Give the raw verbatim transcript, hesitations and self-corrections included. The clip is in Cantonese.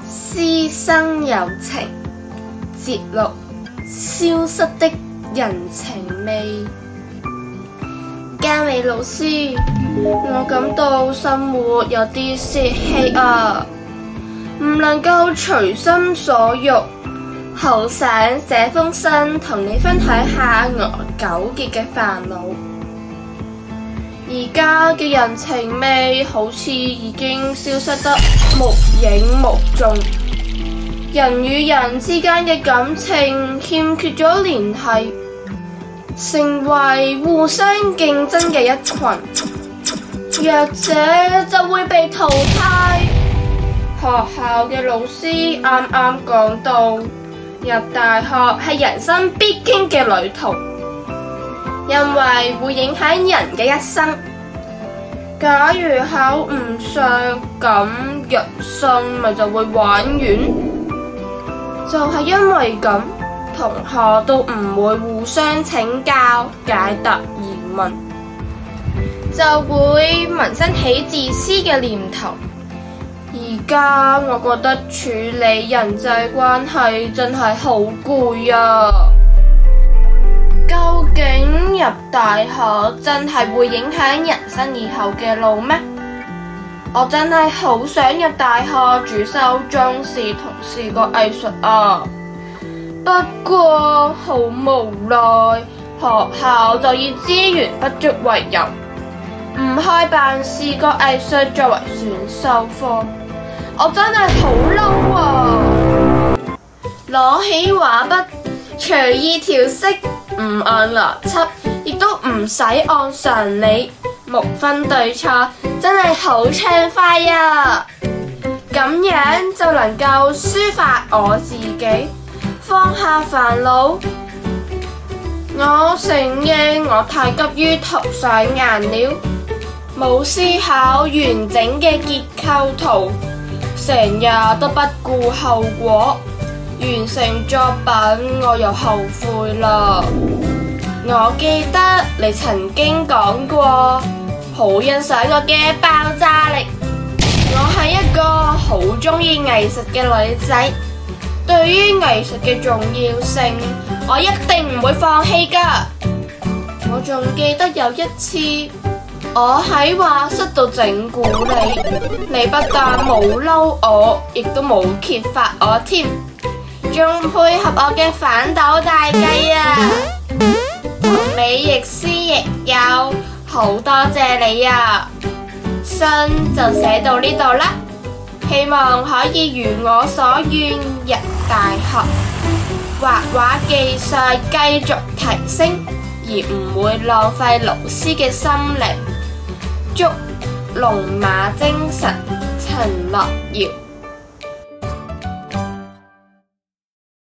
師生友情節錄，消失的人情味。嘉美老師，我感到生活有啲泄氣啊，唔能夠隨心所欲，好想寫封信同你分享下我糾結嘅煩惱。而家嘅人情味好似已經消失得無影無蹤，人與人之間嘅感情欠缺咗聯繫，成為互相競爭嘅一群，弱者就會被淘汰。學校嘅老師啱啱講到，入大學係人生必經嘅旅途，因為會影響人嘅一生。假如考唔上，咁人生咪就會玩完。就係因為咁，同學都唔會互相請教解答疑問，就會萌生起自私嘅念頭。而家我覺得處理人際關係真係好攰啊！究竟入大學真係會影響人生以後嘅路咩？我真係好想入大學主修中視同視覺藝術啊！不過好無奈，學校就以資源不足為由，唔開辦視覺藝術作為選修科。我真係好嬲啊！攞起畫筆，隨意調色，唔按邏輯，亦都唔使按常理，無分對錯，真係好暢快啊！咁樣就能夠抒發我自己，放下煩惱。我承認我太急於塗上顏料，冇思考完整嘅結構圖，成日都不顧後果，完成作品我又後悔啦。我記得你曾經講過，好欣賞我嘅爆炸力。我係一個好鍾意藝術嘅女仔，對於藝術嘅重要性，我一定唔會放棄㗎。我仲記得有一次，我喺畫室度整蠱你，你不但冇嬲我，亦都冇揭發我添，仲配合我嘅反斗大計啊！同你亦師亦友，好多謝你啊！信就寫到呢度啦，希望可以如我所願入大學，畫畫技術繼續提升，而唔會浪費老師嘅心靈。祝龍馬精神，陳樂瑤。